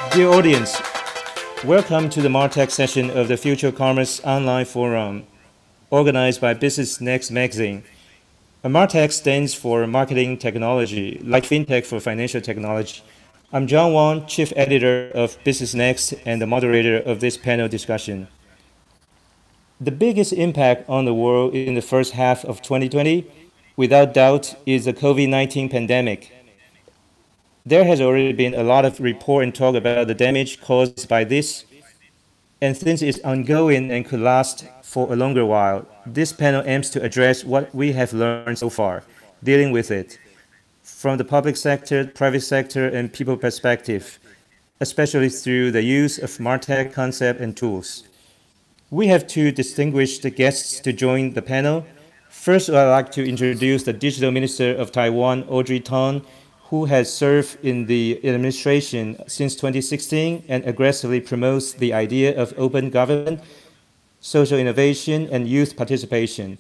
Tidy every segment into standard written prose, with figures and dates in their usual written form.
Dear audience, welcome to the Martech session of the Future Commerce Online Forum, organized by Business Next magazine. Martech stands for Marketing Technology, like FinTech for Financial Technology. I'm John Wang, Chief Editor of Business Next and the moderator of this panel discussion. The biggest impact on the world in the first half of 2020, without doubt, is the COVID-19 pandemic. There has already been a lot of report and talk about the damage caused by this, and since it's ongoing and could last for a longer while, this panel aims to address what we have learned so far, dealing with it, from the public sector, private sector, and people perspective, especially through the use of MarTech concept and tools. We have two distinguished guests to join the panel. First, I'd like to introduce the Digital Minister of Taiwan, Audrey Tang, who has served in the administration since 2016 and aggressively promotes the idea of open government, social innovation, and youth participation.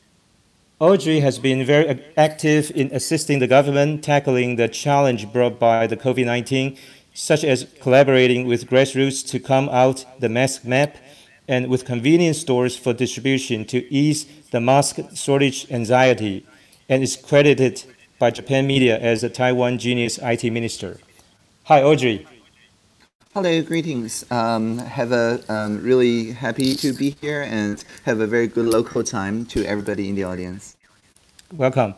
Audrey has been very active in assisting the government tackling the challenge brought by the COVID-19, such as collaborating with grassroots to come out the mask map and with convenience stores for distribution to ease the mask shortage anxiety, and is credited by Japan media as a Taiwan genius IT minister. Hi, Audrey. Hello, greetings. Have a really happy to be here and have a very good local time to everybody in the audience. Welcome.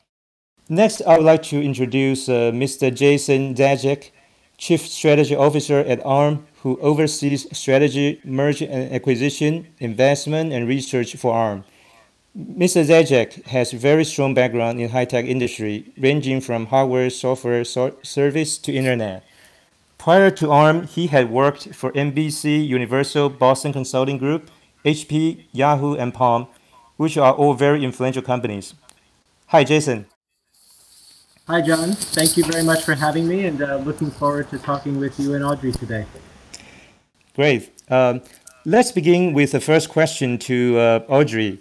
Next, I would like to introduce Mr. Jason Zajac, Chief Strategy Officer at ARM, who oversees strategy, merger and acquisition, investment, and research for ARM. Mr. Zajac has very strong background in high-tech industry, ranging from hardware, software, service to internet. Prior to ARM, he had worked for NBC, Universal, Boston Consulting Group, HP, Yahoo, and Palm, which are all very influential companies. Hi, Jason. Hi, John. Thank you very much for having me, and looking forward to talking with you and Audrey today. Great. Let's begin with the first question to Audrey.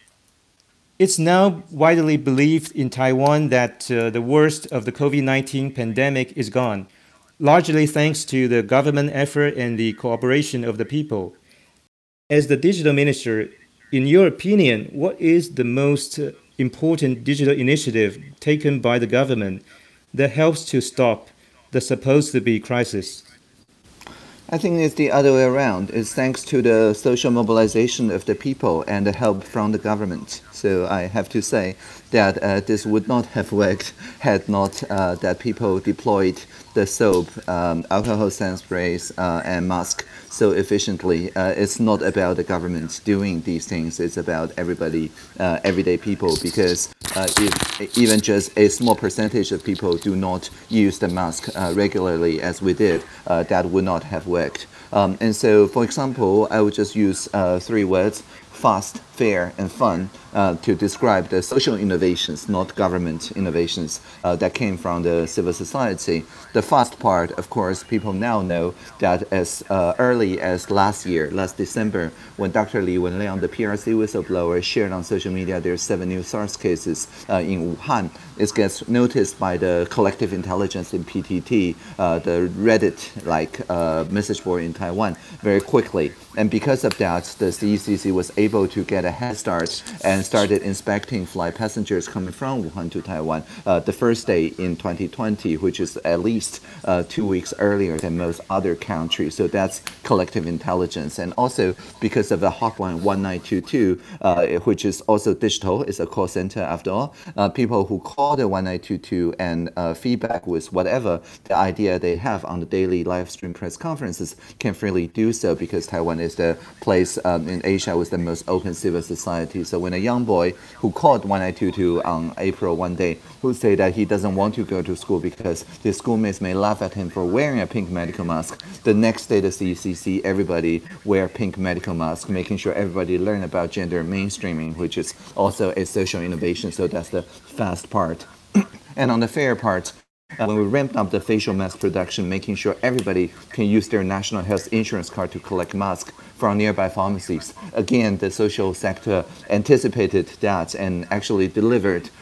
It's now widely believed in Taiwan that the worst of the COVID-19 pandemic is gone, largely thanks to the government effort and the cooperation of the people. As the digital minister, in your opinion, what is the most important digital initiative taken by the government that helps to stop the supposed to be crisis? I think it's the other way around. It's thanks to the social mobilization of the people and the help from the government. So I have to say that this would not have worked had not that people deployed the soap, alcohol sand sprays, and mask so efficiently. It's not about the government doing these things. It's about everybody, everyday people, because if even just a small percentage of people do not use the mask regularly as we did, that would not have worked. And so, for example, I would just use three words: fast, fair, and fun, to describe the social innovations, not government innovations, that came from the civil society. The fast part, of course, people now know that as early as last December, when Dr. Li Wenliang, the PRC whistleblower, shared on social media there are 7 new SARS cases in Wuhan, it gets noticed by the collective intelligence in PTT, the Reddit-like message board in Taiwan, very quickly. And because of that, the CECC was able to get a head start and started inspecting flight passengers coming from Wuhan to Taiwan the first day in 2020, which is at least 2 weeks earlier than most other countries. So that's collective intelligence. And also because of the hotline 1922, which is also digital, it's a call center after all, people who call the 1922 and feedback with whatever the idea they have on the daily live stream press conferences can freely do so, because Taiwan is the place in Asia with the most open civil society. So when a young boy who called 1922 on April one day, who say that he doesn't want to go to school because his schoolmates may laugh at him for wearing a pink medical mask, the next day the CCC, everybody wear pink medical mask, making sure everybody learn about gender mainstreaming, which is also a social innovation. So that's the fast part. And on the fair part, when we ramped up the facial mask production, making sure everybody can use their national health insurance card to collect masks from nearby pharmacies. Again, the social sector anticipated that and actually delivered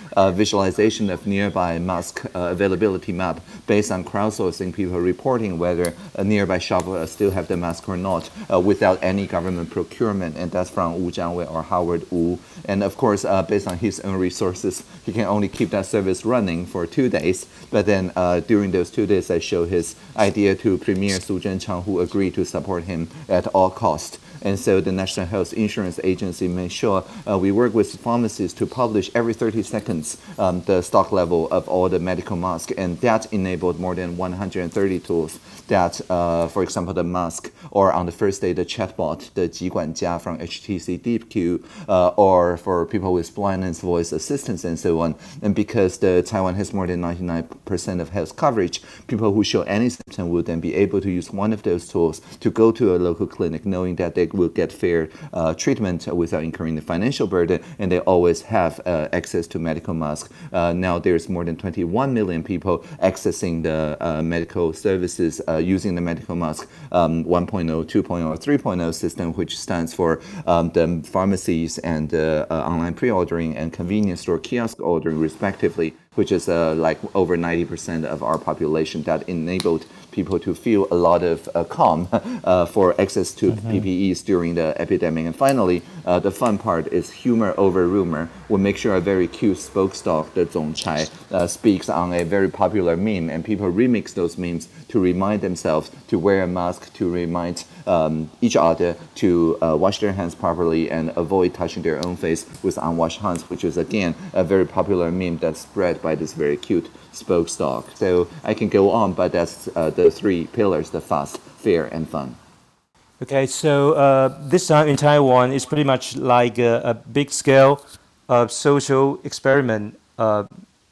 visualization of nearby mask availability map based on crowdsourcing, people reporting whether a nearby shop still have the mask or not without any government procurement. And that's from Wu Jianwei or Howard Wu. And of course, based on his own resources, he can only keep that service running for 2 days. But then during those 2 days, I show his idea to Premier Su Zhenchang, who agreed to support him at all costs. And so the National Health Insurance Agency made sure we work with pharmacists to publish every 30 seconds the stock level of all the medical masks. And that enabled more than 130 tools that, for example, the mask, or on the first day, the chatbot, the Jiguanjia from HTC DeepQ, or for people with blindness, voice assistance, and so on. And because Taiwan has more than 99% of health coverage, people who show any symptom will then be able to use one of those tools to go to a local clinic, knowing that they will get fair treatment without incurring the financial burden, and they always have access to medical masks. Now there's more than 21 million people accessing the medical services using the medical mask 1.0, 2.0, 3.0 system, which stands for the pharmacies and online pre-ordering and convenience store kiosk ordering respectively, which is like over 90% of our population, that enabled people to feel a lot of calm for access to PPEs during the epidemic. And finally, the fun part is humor over rumor. We'll make sure a very cute spokesdog, the Zongchai, speaks on a very popular meme, and people remix those memes to remind themselves to wear a mask, to remind each other to wash their hands properly and avoid touching their own face with unwashed hands, which is again a very popular meme that's spread by this very cute spokesdog. So I can go on, but that's the 3 pillars: the fast, fair, and fun. Okay, so this time in Taiwan, it's pretty much like a big scale social experiment. A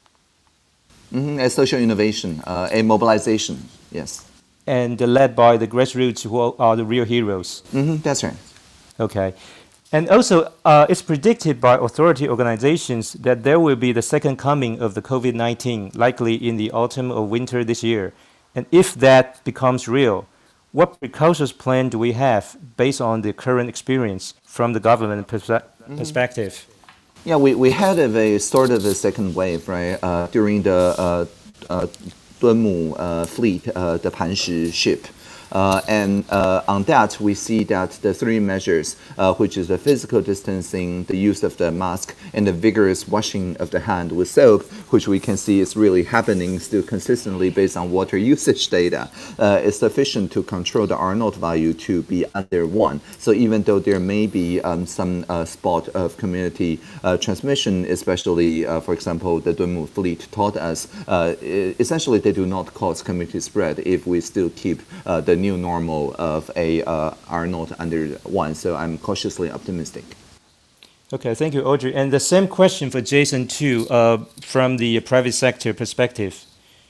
social innovation, a mobilization, yes. And led by the grassroots, who are the real heroes. That's right. Okay. And also, it's predicted by authority organizations that there will be the second coming of the COVID-19, likely in the autumn or winter this year. And if that becomes real, what precautions plan do we have based on the current experience from the government perspective? Yeah, we had a sort of a second wave, right? During the Dunmu fleet, the Panshi ship. And on that, we see that the 3 measures, which is the physical distancing, the use of the mask, and the vigorous washing of the hand with soap, which we can see is really happening still consistently based on water usage data, is sufficient to control the R0 value to be under 1. So even though there may be some spot of community transmission, especially, for example, the Dunmu fleet taught us, essentially they do not cause community spread if we still keep the new normal of a R0 under 1. So I'm cautiously optimistic. Okay, thank you, Audrey. And the same question for Jason too, from the private sector perspective.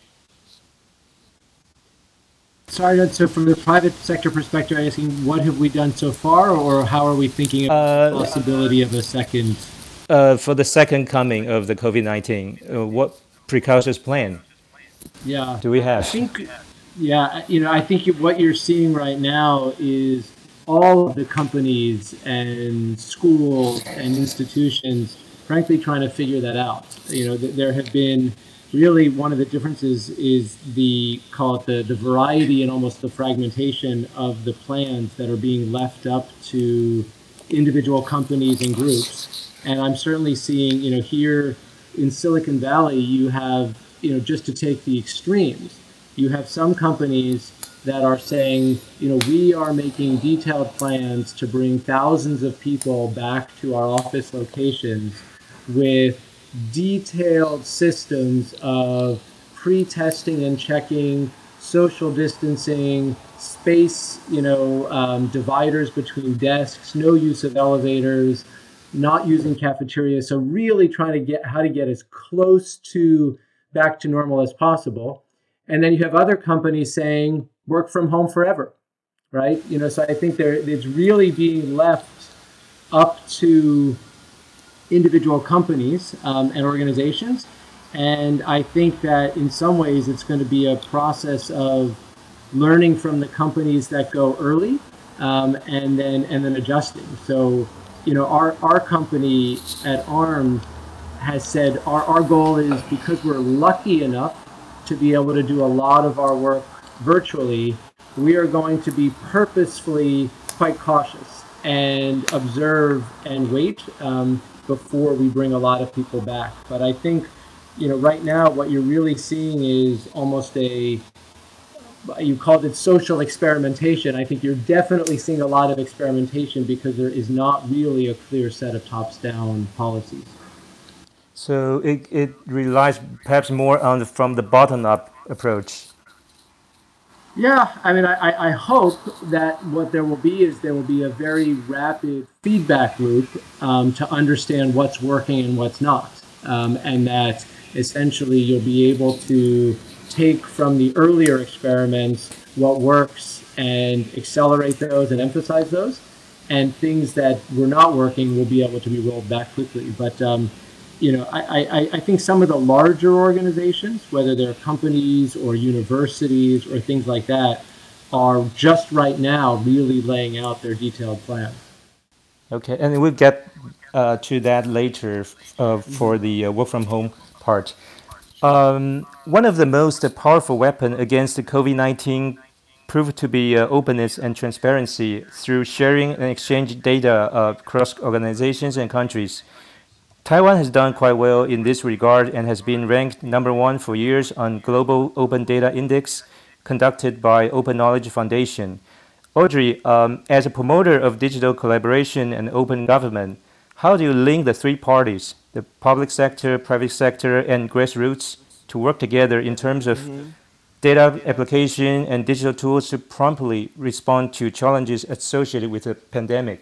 Sorry, so from the private sector perspective, I'm asking what have we done so far, or how are we thinking about the possibility of a second? For the second coming of the COVID-19, what precautions plan do we have? I think what you're seeing right now is all of the companies and schools and institutions, frankly, trying to figure that out. There have been really one of the differences is the variety and almost the fragmentation of the plans that are being left up to individual companies and groups. And I'm certainly seeing, here in Silicon Valley, you have, just to take the extremes, you have some companies that are saying, we are making detailed plans to bring thousands of people back to our office locations with detailed systems of pre-testing and checking, social distancing, space, dividers between desks, no use of elevators, not using cafeterias. So really trying to get as close to back to normal as possible. And then you have other companies saying work from home forever, right? So I think it's really being left up to individual companies and organizations. And I think that in some ways it's going to be a process of learning from the companies that go early and then adjusting. So, our company at ARM has said our goal is, because we're lucky enough to be able to do a lot of our work virtually, we are going to be purposefully quite cautious and observe and wait before we bring a lot of people back. But I think, right now what you're really seeing is almost you called it social experimentation. I think you're definitely seeing a lot of experimentation because there is not really a clear set of tops-down policies. So it relies perhaps more on from the bottom up approach. Yeah, I mean, I hope that what there will be is there will be a very rapid feedback loop to understand what's working and what's not. And that essentially you'll be able to take from the earlier experiments what works and accelerate those and emphasize those. And things that were not working will be able to be rolled back quickly. But I think some of the larger organizations, whether they're companies or universities or things like that, are just right now really laying out their detailed plan. Okay, and we'll get to that later for the work from home part. One of the most powerful weapons against the COVID-19 proved to be openness and transparency through sharing and exchange data across organizations and countries. Taiwan has done quite well in this regard and has been ranked number one for years on Global Open Data Index conducted by Open Knowledge Foundation. Audrey, as a promoter of digital collaboration and open government, how do you link the three parties, the public sector, private sector, and grassroots, to work together in terms of data application and digital tools to promptly respond to challenges associated with the pandemic?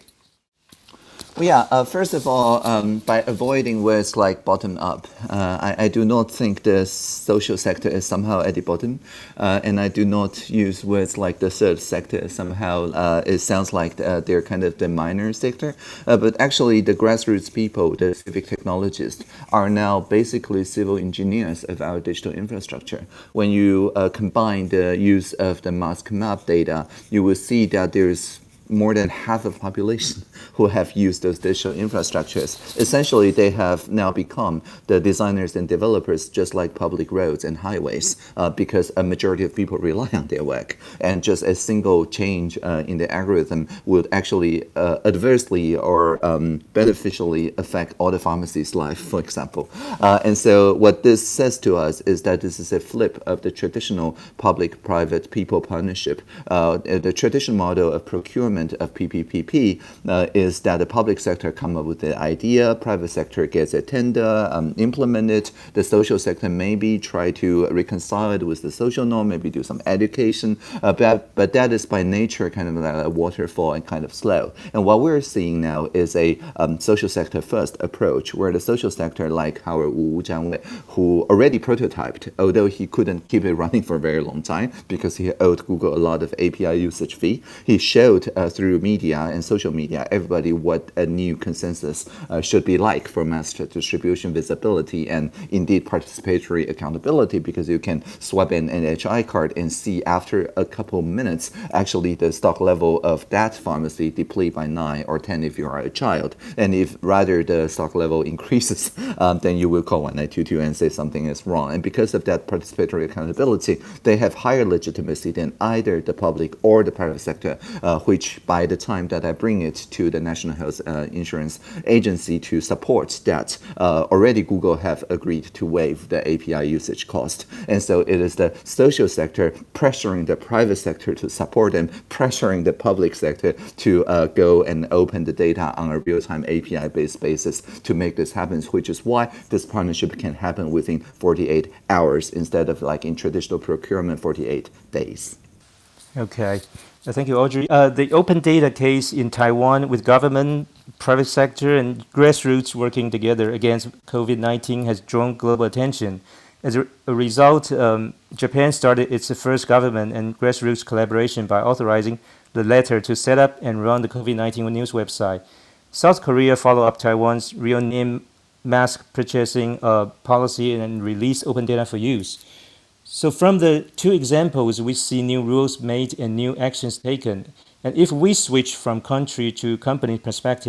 Well, yeah, first of all, by avoiding words like bottom up, I do not think the social sector is somehow at the bottom. And I do not use words like the third sector. Somehow it sounds like they're kind of the minor sector. But actually, the grassroots people, the civic technologists, are now basically civil engineers of our digital infrastructure. When you combine the use of the mask map data, you will see that there's more than half of the population who have used those digital infrastructures. Essentially, they have now become the designers and developers, just like public roads and highways, because a majority of people rely on their work. And just a single change in the algorithm would actually adversely or beneficially affect all the pharmacies' life, for example. And so what this says to us is that this is a flip of the traditional public-private people partnership. The traditional model of procurement of PPPP is that the public sector come up with the idea, private sector gets a tender, implement it, the social sector maybe try to reconcile it with the social norm, maybe do some education, but that is by nature kind of like a waterfall and kind of slow. And what we're seeing now is a social sector first approach, where the social sector, like Howard Wu Jianwei, who already prototyped, although he couldn't keep it running for a very long time because he owed Google a lot of API usage fee, he showed through media and social media everybody what a new consensus should be like for mass distribution visibility and indeed participatory accountability, because you can swipe an NHI card and see after a couple minutes actually the stock level of that pharmacy deplete by 9 or 10 if you are a child. And if rather the stock level increases, then you will call 1922 and say something is wrong. And because of that participatory accountability, they have higher legitimacy than either the public or the private sector, which by the time that I bring it to the National Health Insurance Agency to support that, already Google have agreed to waive the API usage cost. And so it is the social sector pressuring the private sector to support them, pressuring the public sector to go and open the data on a real-time API-based basis to make this happen, which is why this partnership can happen within 48 hours instead of like in traditional procurement, 48 days. Okay. Thank you, Audrey. The open data case in Taiwan with government, private sector, and grassroots working together against COVID-19 has drawn global attention. As a result, Japan started its first government and grassroots collaboration by authorizing the letter to set up and run the COVID-19 news website. South Korea followed up Taiwan's real name mask purchasing policy and released open data for use. So from the two examples, we see new rules made and new actions taken. And if we switch from country to company perspective,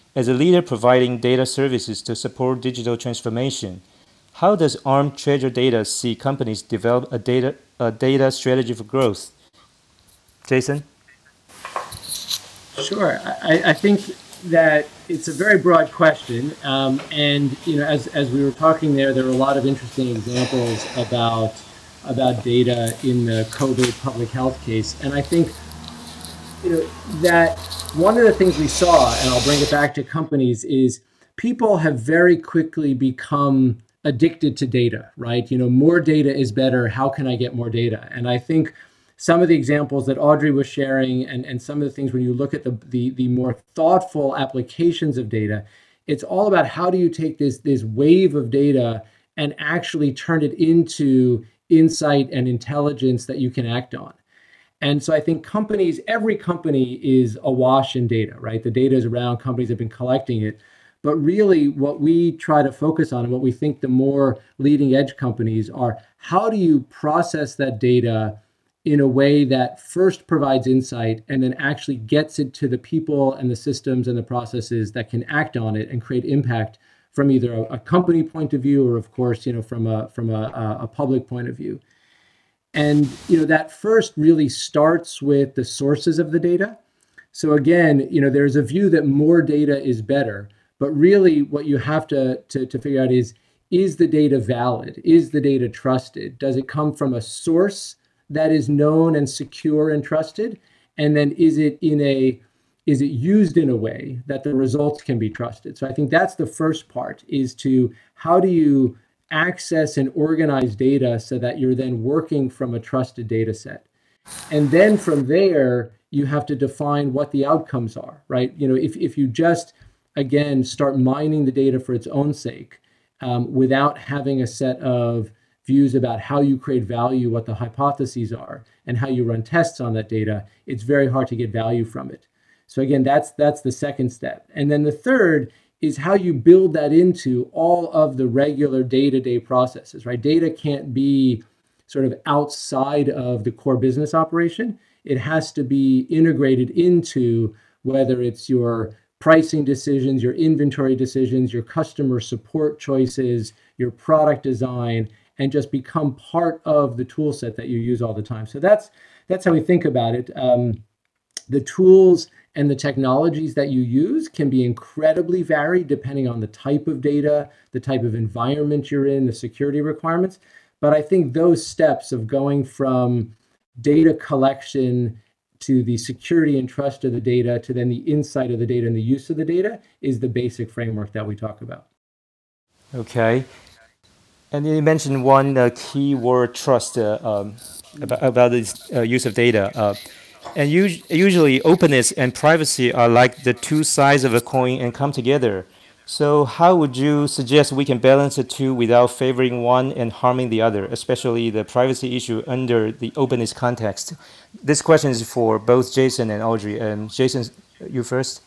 As a leader providing data services to support digital transformation, how does ARM Treasure Data see companies develop a data strategy for growth? Jason? Sure. I think that it's a very broad question, and as we were talking there were a lot of interesting examples about data in the COVID public health case, and I think that one of the things we saw, and I'll bring it back to companies, is people have very quickly become addicted to data, right? More data is better. How can I get more data? And I think some of the examples that Audrey was sharing and some of the things when you look at the more thoughtful applications of data, it's all about how do you take this wave of data and actually turn it into insight and intelligence that you can act on. And so I think every company is awash in data, right? The data is around, companies have been collecting it. But really what we try to focus on and what we think the more leading edge companies are, how do you process that data in a way that first provides insight and then actually gets it to the people and the systems and the processes that can act on it and create impact from either a company point of view or, of course, from a public point of view. And that first really starts with the sources of the data. So again, there's a view that more data is better, but really what you have to figure out is the data valid? Is the data trusted? Does it come from a source that is known and secure and trusted? And then is it used in a way that the results can be trusted? So I think that's the first part, is to how do you access and organize data so that you're then working from a trusted data set. And then from there, you have to define what the outcomes are, right? If you just, again, start mining the data for its own sake, without having a set of views about how you create value, what the hypotheses are, and how you run tests on that data, it's very hard to get value from it. So again, that's the second step. And then the third is how you build that into all of the regular day-to-day processes, right? Data can't be sort of outside of the core business operation. It has to be integrated into whether it's your pricing decisions, your inventory decisions, your customer support choices, your product design, and just become part of the tool set that you use all the time. So that's how we think about it. The tools and the technologies that you use can be incredibly varied depending on the type of data, the type of environment you're in, the security requirements. But I think those steps of going from data collection to the security and trust of the data to then the insight of the data and the use of the data is the basic framework that we talk about. Okay. And you mentioned one key word, trust, about this use of data. And usually openness and privacy are like the two sides of a coin and come together. So how would you suggest we can balance the two without favoring one and harming the other, especially the privacy issue under the openness context? This question is for both Jason and Audrey. And Jason, you first.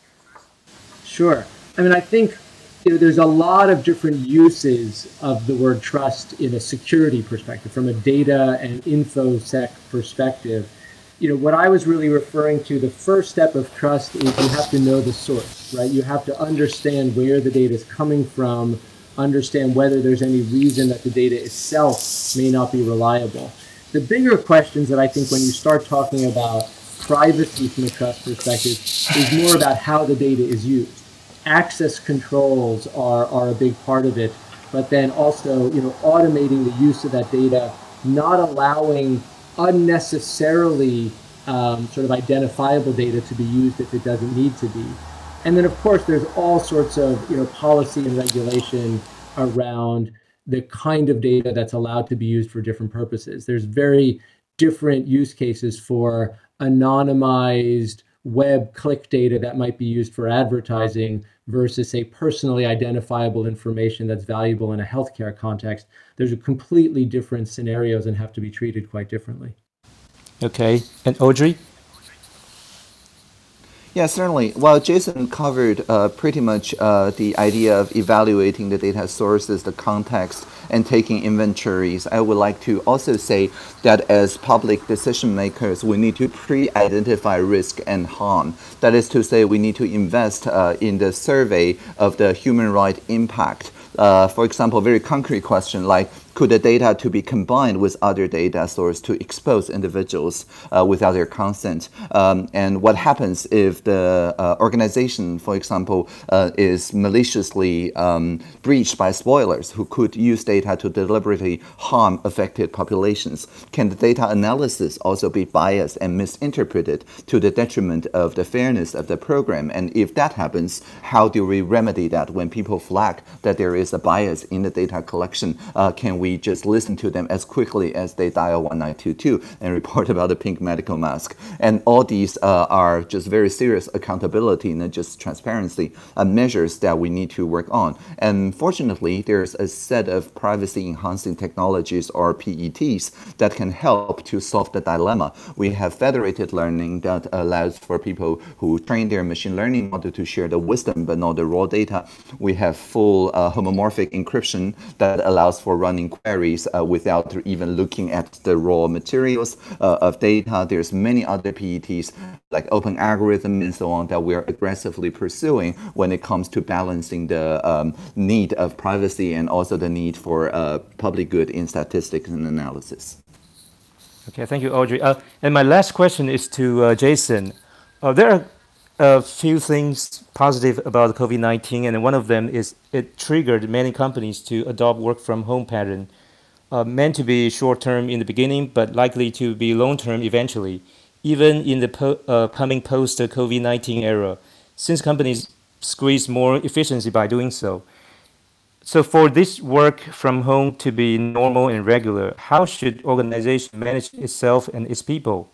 Sure. I think there's a lot of different uses of the word trust in a security perspective, from a data and infosec perspective. What I was really referring to, the first step of trust is you have to know the source, right? You have to understand where the data is coming from, understand whether there's any reason that the data itself may not be reliable. The bigger questions that I think when you start talking about privacy from a trust perspective is more about how the data is used. Access controls are a big part of it, but then also, automating the use of that data, not allowing unnecessarily sort of identifiable data to be used if it doesn't need to be. And then, of course, there's all sorts of policy and regulation around the kind of data that's allowed to be used for different purposes. There's very different use cases for anonymized web click data that might be used for advertising versus, say, personally identifiable information that's valuable in a healthcare context. There's a completely different scenarios and have to be treated quite differently. Okay. And Audrey? Yeah, certainly. Well, Jason covered pretty much the idea of evaluating the data sources, the context, and taking inventories. I would like to also say that as public decision makers, we need to pre-identify risk and harm. That is to say, we need to invest in the survey of the human right impact. For example, very concrete question like, could the data to be combined with other data source to expose individuals without their consent? And what happens if the organization, for example, is maliciously breached by spoilers who could use data to deliberately harm affected populations? Can the data analysis also be biased and misinterpreted to the detriment of the fairness of the program? And if that happens, how do we remedy that when people flag that there is a bias in the data collection? Can we just listen to them as quickly as they dial 1922 and report about the pink medical mask? And all these are just very serious accountability and just transparency measures that we need to work on. And fortunately, there's a set of privacy enhancing technologies or PETs that can help to solve the dilemma. We have federated learning that allows for people who train their machine learning model to share the wisdom but not the raw data. We have full homomorphic encryption that allows for running queries without even looking at the raw materials of data. There's many other PETs like open algorithm and so on that we are aggressively pursuing when it comes to balancing the need of privacy and also the need for public good in statistics and analysis. Okay, thank you, Audrey. And my last question is to Jason. There are a few things positive about COVID-19, and one of them is it triggered many companies to adopt work from home pattern, meant to be short-term in the beginning, but likely to be long-term eventually, even in the coming post-COVID-19 era, since companies squeeze more efficiency by doing so. So for this work from home to be normal and regular, how should organization manage itself and its people?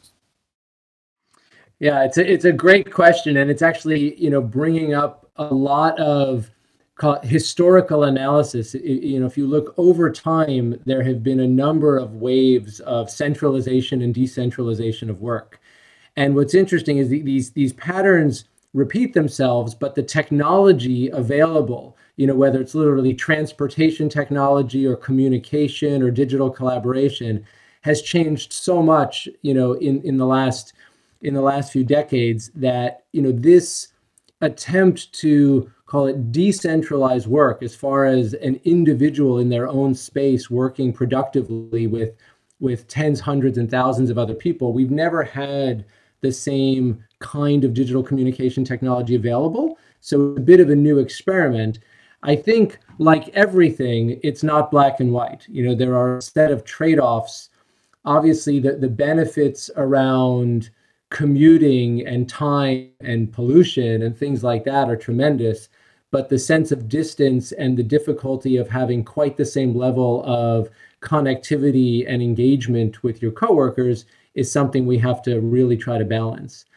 Yeah, it's a great question, and it's actually bringing up a lot of historical analysis. If you look over time, there have been a number of waves of centralization and decentralization of work. And what's interesting is these patterns repeat themselves, but the technology available, whether it's literally transportation technology or communication or digital collaboration, has changed so much, in the last few decades that this attempt to call it decentralized work as far as an individual in their own space working productively with tens, hundreds, and thousands of other people. We've never had the same kind of digital communication technology available. So it's a bit of a new experiment. I think, like everything, it's not black and white. There are a set of trade-offs. Obviously, the benefits around commuting and time and pollution and things like that are tremendous, but the sense of distance and the difficulty of having quite the same level of connectivity and engagement with your coworkers is something we have to really try to balance.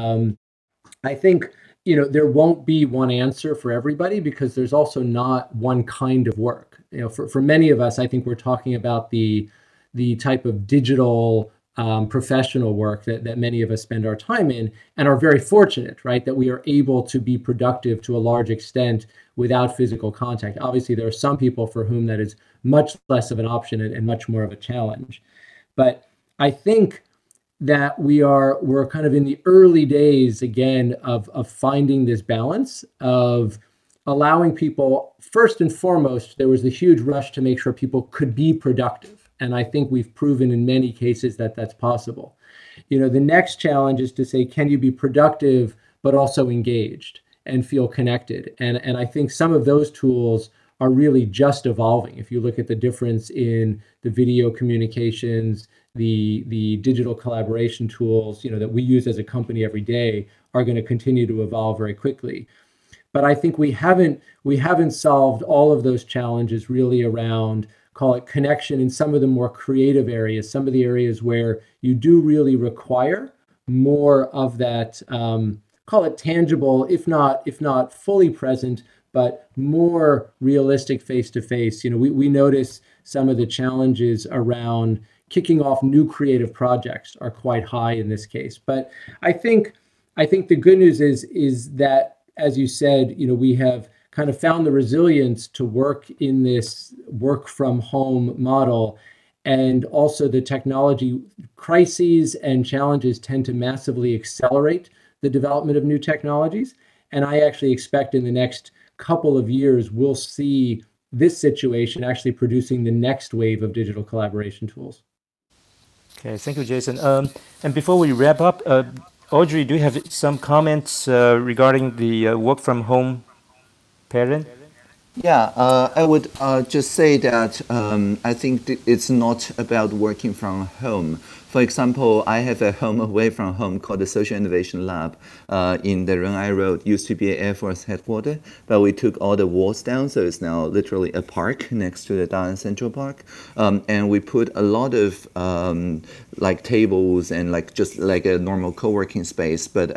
I think there won't be one answer for everybody because there's also not one kind of work. For many of us, I think we're talking about the type of digital professional work that many of us spend our time in and are very fortunate, right, that we are able to be productive to a large extent without physical contact. Obviously, there are some people for whom that is much less of an option and much more of a challenge. But I think that we're kind of in the early days again of finding this balance of allowing people. First and foremost, there was the huge rush to make sure people could be productive. And I think we've proven in many cases that that's possible. The next challenge is to say, can you be productive, but also engaged and feel connected? And I think some of those tools are really just evolving. If you look at the difference in the video communications, the digital collaboration tools, that we use as a company every day are going to continue to evolve very quickly. But I think we haven't solved all of those challenges really around, call it connection in some of the more creative areas, some of the areas where you do really require more of that, call it tangible, if not fully present, but more realistic face-to-face. We notice some of the challenges around kicking off new creative projects are quite high in this case. But I think I think the good news is that, as you said, we have kind of found the resilience to work in this work from home model. And also the technology crises and challenges tend to massively accelerate the development of new technologies. And I actually expect in the next couple of years, we'll see this situation actually producing the next wave of digital collaboration tools. Okay, thank you, Jason. And before we wrap up, Audrey, do you have some comments regarding the work from home pattern? Yeah, I would just say that I think it's not about working from home. For example, I have a home away from home called the Social Innovation Lab in the Renai Road. Used to be an Air Force headquarters, but we took all the walls down, so it's now literally a park next to the Dalian Central Park. And we put a lot of like tables and like just like a normal co-working space, but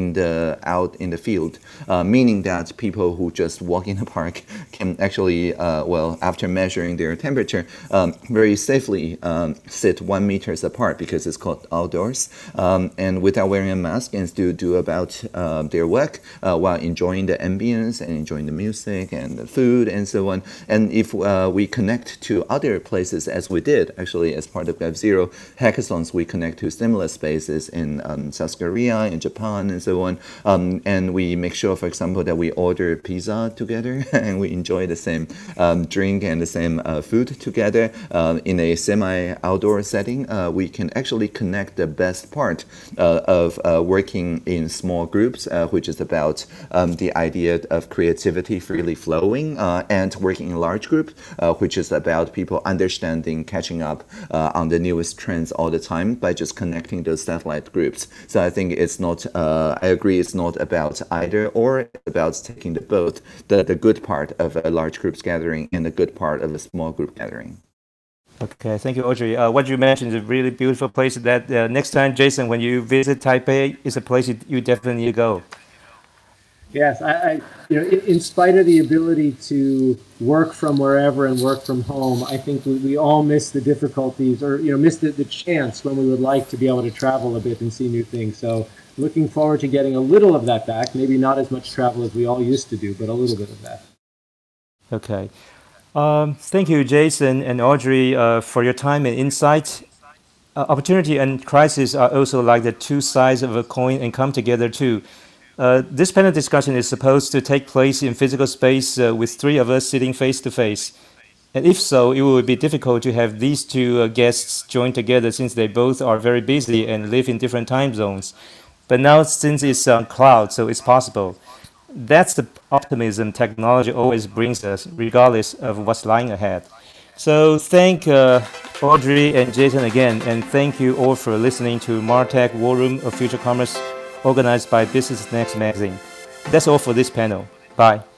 out in the field, meaning that people who just walk in the park can actually, after measuring their temperature, very safely sit 1 meters apart because it's called outdoors, and without wearing a mask and still do about their work while enjoying the ambience and enjoying the music and the food and so on. And if we connect to other places, as we did actually as part of Web Zero hackathons, we connect to similar spaces in South Korea, in Japan, and so on. And we make sure, for example, that we order pizza together and we enjoy the same drink and the same food together in a semi-outdoor setting. We can actually connect the best part of working in small groups, which is about the idea of creativity freely flowing, and working in large groups, which is about people understanding, catching up on the newest trends all the time by just connecting those satellite groups. So I think it's not, I agree, it's not about either or, it's about taking both the good part of a large groups gathering and the good part of a small group gathering. Okay, thank you, Audrey. What you mentioned is a really beautiful place that next time, Jason, when you visit Taipei, is a place you definitely need to go. Yes, in spite of the ability to work from wherever and work from home, I think we all miss the difficulties, or miss the chance when we would like to be able to travel a bit and see new things. So looking forward to getting a little of that back. Maybe not as much travel as we all used to do, but a little bit of that. Okay. Thank you, Jason and Audrey, for your time and insight. Opportunity and crisis are also like the two sides of a coin and come together too. This panel discussion is supposed to take place in physical space with three of us sitting face to face. And if so, it would be difficult to have these two guests join together since they both are very busy and live in different time zones. But now, since it's on cloud, so it's possible. That's the optimism technology always brings us, regardless of what's lying ahead. So thank Audrey and Jason again, and thank you all for listening to Martech War Room of Future Commerce, organized by Business Next magazine. That's all for this panel. Bye.